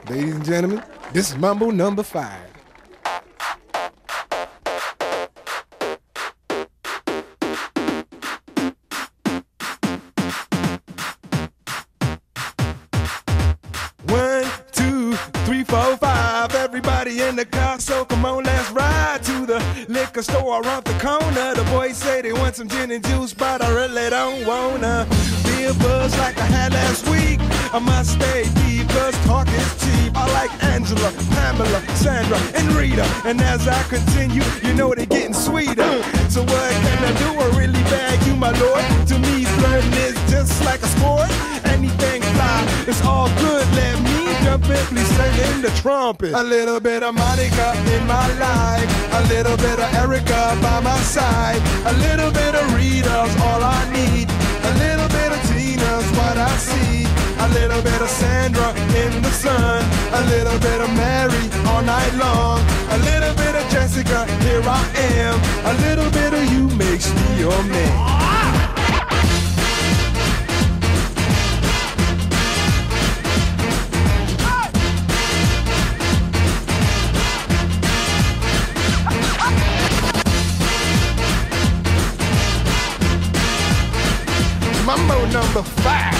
Ladies and gentlemen, this is Mambo number 5. One, two, three, four, five. Everybody in the car, so come on, let's ride to the liquor store around the corner. The boys say they want some gin and juice, but I really don't wanna be a buzz like I had last week. I must stay deep, cause talk is cheap. I like Angela, Pamela, Sandra, and Rita. And as I continue, you know they're getting sweeter. So what can I do? I really bag you, my lord. To me, flirting is just like a sport. Anything fly, it's all good. Let me jump in, please sing in the trumpet. A little bit of Monica in my life, a little bit of Erica by my side, a little bit of Rita's all I need, a little bit of Tina's what I see, a little bit of Sandra in the sun, a little bit of Mary all night long, a little bit of Jessica, here I am, a little bit of you makes me your man. Mambo number 5.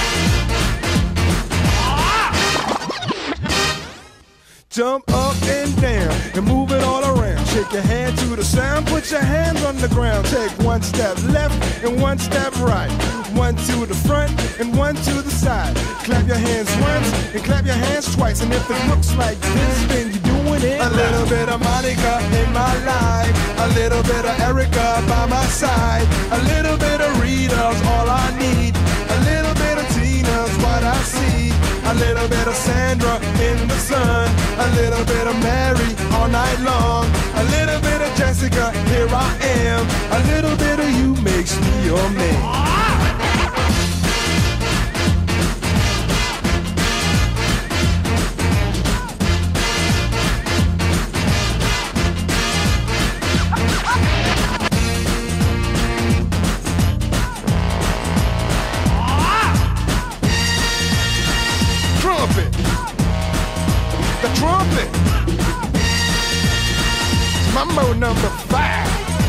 Jump up and down and move it all around. Shake your hand to the sound, put your hands on the ground. Take one step left and one step right. One to the front and one to the side. Clap your hands once and clap your hands twice. And if it looks like this, then you're doing it. A little bit of Monica in my life, a little bit of Erica by my side, a little bit of Rita's all I need, a little bit of Tina's what I see, a little bit of Sandra in the sun, a little bit of Mary all night long, a little bit of Jessica, here I am, a little bit of you makes me your man. The trumpet. Mambo number 5.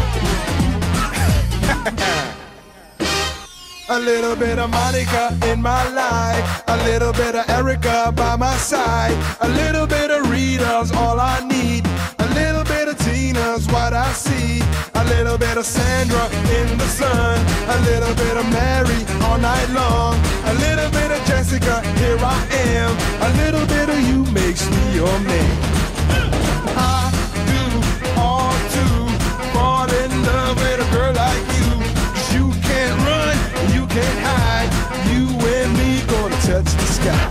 A little bit of Monica in my life, a little bit of Erica by my side, a little bit of Rita's all I need, a little bit of Tina's what I see, a little bit of Sandra in the sun, a little bit of Mary all night long, a little bit of Jessica, here I am, a little bit of you makes me your man. I do all to fall in love with a girl like you, 'cause you can't run, you can't hide, you and me gonna touch the sky.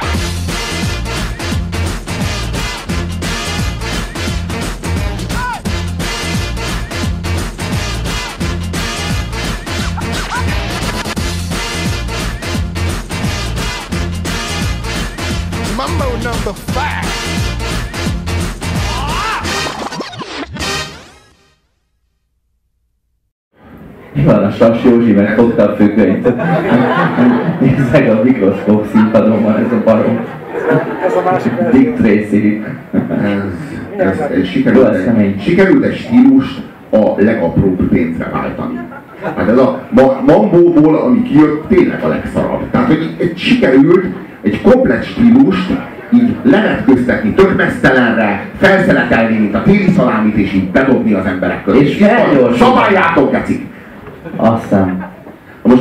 Mambo number 5. Van a Sas Józsi megfogta a függönyt. Nézzek a mikroszkóp színpadomban, ez a barom. Ez a másik Dick Tracy. Sikerült egy stílust a legapróbb pénzre váltani. Hát ez a Mambóból, ami kijött, tényleg a legszarabb. Tehát, hogy sikerült egy komplett stílust így levetköztetni tök mesztelenre, felszeletelni, mint a téli szalámit, és így bedobni az emberek között. És felgyorsítani. Szabályátok, kecik! Aztán. Most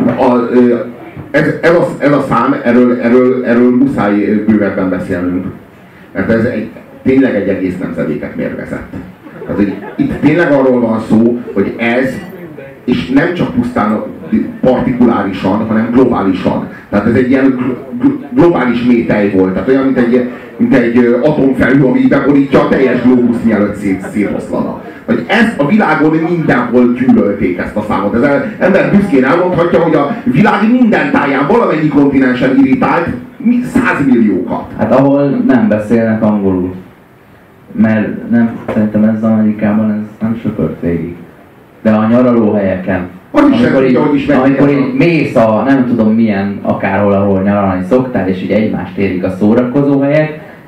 ez a szám, erről muszáj bővebben beszélnünk. Mert ez tényleg egy egész nemzedéket mérgezett. Tehát, itt tényleg arról van szó, hogy ez, és nem csak pusztán partikulárisan, hanem globálisan. Tehát ez egy ilyen globális métej volt. Tehát olyan, mint egy atomfelhő, ami beborítja a teljes globuszt, mielőtt szétoszlana. Hogy ezt a világon mindenhol gyűlölték, ezt a számot. Ez az ember büszkén elmondhatja, hogy a világ minden táján valamennyi kontinensen irritált 100 milliókat. Hát ahol nem beszélnek angolul. Mert nem, szerintem ez Amerikában ez nem söpört végig. De a nyaralóhelyeken, amikor így mész a nem tudom milyen, akárhol, ahol nyaralni szoktál, és így egymást érik a szórakozóhelyek,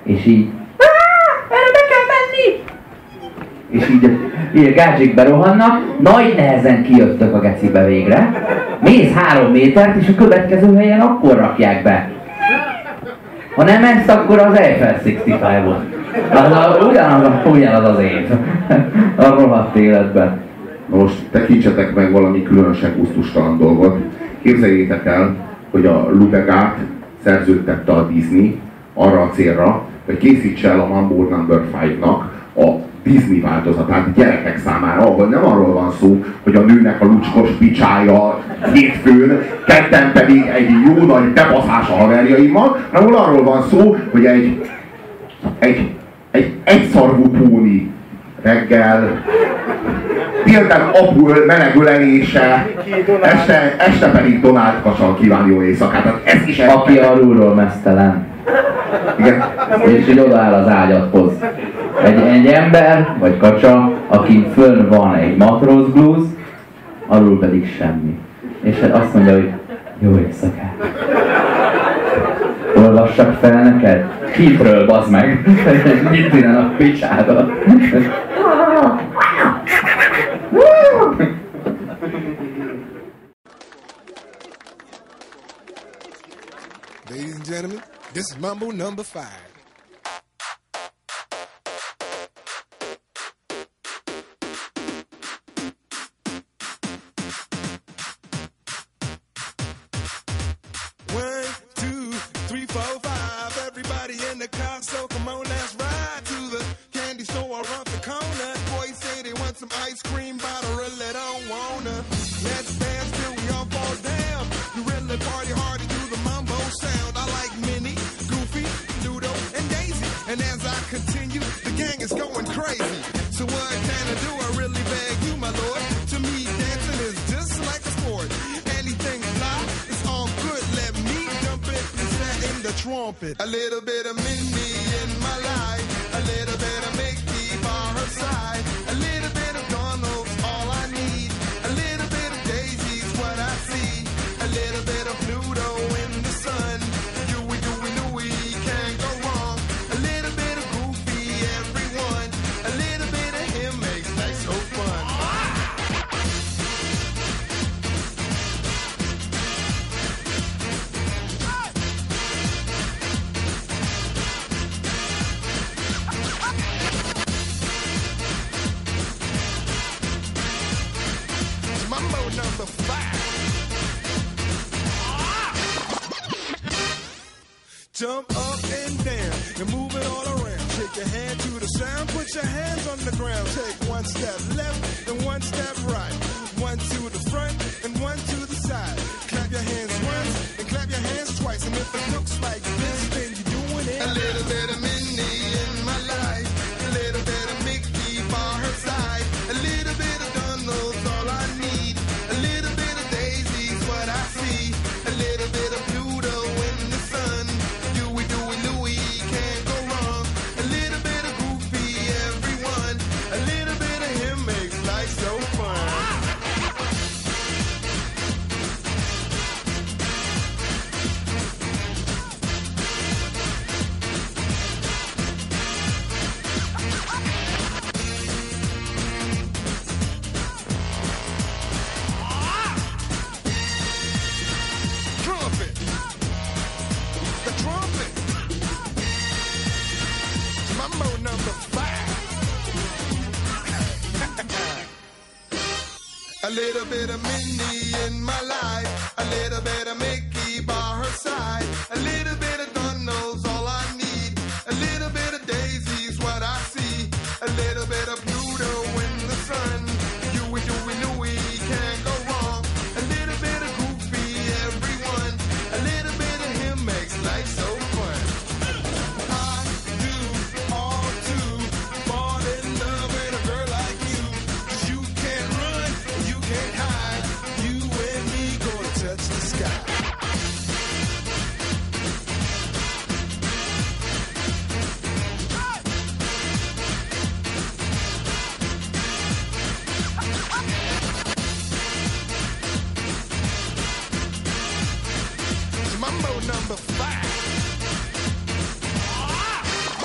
És így erre be kell menni! És így a gácsik berohannak, nagy nehezen kijöttök a gecibe végre, mész 3 métert, és a következő helyen akkor rakják be. Ha nem ezt, akkor az Eiffel 65-ot. Ugyanaz az év. A rohadt életben. Most tekintsetek meg valami különösen gusztustalan dolgot. Képzeljétek el, hogy a Lubegát szerződtette a Disney arra a célra, hogy készítse el a Mambo No. 5-nak a Disney változatát gyerekek számára, ahol nem arról van szó, hogy a nőnek a lucskos picsája hétfőn, kedden pedig egy jó nagy bebaszás a haverjaimmal, hanem arról van szó, hogy egy egyszarvú póni reggel, délután apul menegülenése, este pedig Donald Kacsal kíván jó éjszakát. Tehát ez is aki alulról meztelen. Igen. És így odaáll az ágyadhoz. Egy ember, vagy kacsa, akin fönn van egy matróz blúz, alul pedig semmi. És azt mondja, hogy jó éjszakát. Olvassak fel neked? Kintről, bazd meg! Mit innen a picsádat? Ladies and gentlemen, this is Mambo No. 5. A little bit of Minnie in my life, a little bit of Mickey by her side, a little bit of Donald's all I need, a little bit of Daisy's what I see, a little bit of Pluto in the sun, Huey, Dewey, Louie, can't go wrong, a little bit of Goofy, everyone, a little bit of him makes life so fun. No. 5. Jump up and down and move it all around. Shake your hand to the sound, put your hands on the ground. Take 1 step left and 1 step right. 1 to the front and 1 to the side. Clap your hands once and clap your hands twice. And if it looks like this, then you're doing it. A little bit of Minnie in my life, a little bit of Mickey by her side, a little bit of Donald's all I need. A little bit of Daisy's what I see. A little bit of Pluto in the sun. Huey, Dewey, Louie, can't go wrong. A little bit of Goofy, everyone. A little bit of him makes life so fun. A little bit of Minnie in my life, a little bit of Mickey by her side, a little bit of Donald's all I need, a little bit of Daisy's what I see, a little bit of Pluto in the sun, Huey, Dewey, Louie, can't go wrong, a little bit of Goofy, everyone, a little bit of him makes life so fun. I do all to fall in love with a girl like you, 'cause you can't run, you can't hide, you and me gonna touch the sky. Mambo No. 5.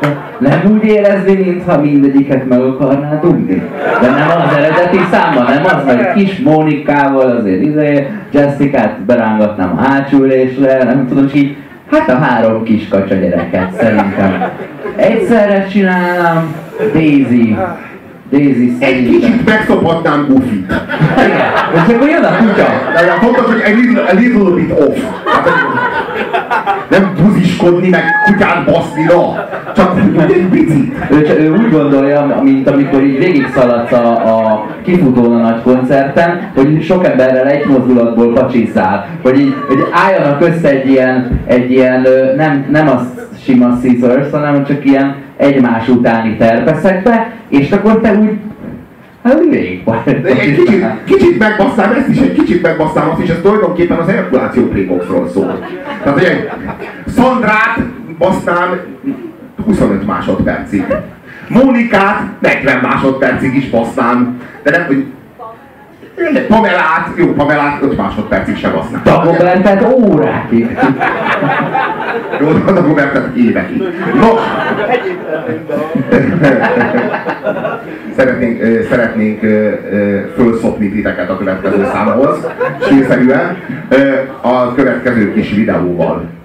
Nem úgy érezni, mintha mindegyiket meg akarná dugni. De nem az eredeti számban, nem az, hogy kis Mónikával azért Jessicát berángatnám a hátsülésre, nem tudom, és így, hát a 3 kis kacsa gyereket szerintem. Egyszerre csinálnám, Daisy Egy szerintem. kicsit megszophatnám Goofy-t. Igen, és akkor jön a kutya. De fontos, hogy a little bit off. Hát, nem buziskodni, meg kutyát baszni, no. Csak egy picit. Ő úgy gondolja, mint amikor így végig szaladsz a kifutón a nagy koncerten, hogy sok emberrel egy mozdulatból pacsiszál. Hogy álljanak össze egy ilyen nem a sima scissors, hanem csak ilyen egymás utáni terpeszekbe, és akkor te úgy végig vagy. Kicsit megbasztám ezt is, egy kicsit megbasztám azt is, ez tulajdonképpen az Herkuláció Playboxról szól. Tehát, hogy egy Szandrát basznám 25 másodpercig. Mónikát 40 másodpercig is basznám. De nem, hogy Pamelát 5 másodpercig se basznám. Dagobertet órákig. Jó, Dagobertet évekig. Nos! Szeretnénk fölszopni titeket a következő számhoz, sírszerűen, a következő kis videóval.